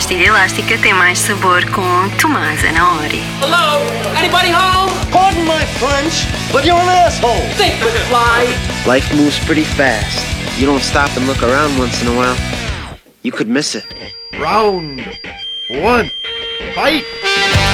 pastilha elástica tem mais sabor com Tomás Anaori. Hello? Anybody home? Pardon my French, but you're an asshole. Think, McFly. Life moves pretty fast. You don't stop and look around once in a while, you could miss it. Round one, fight.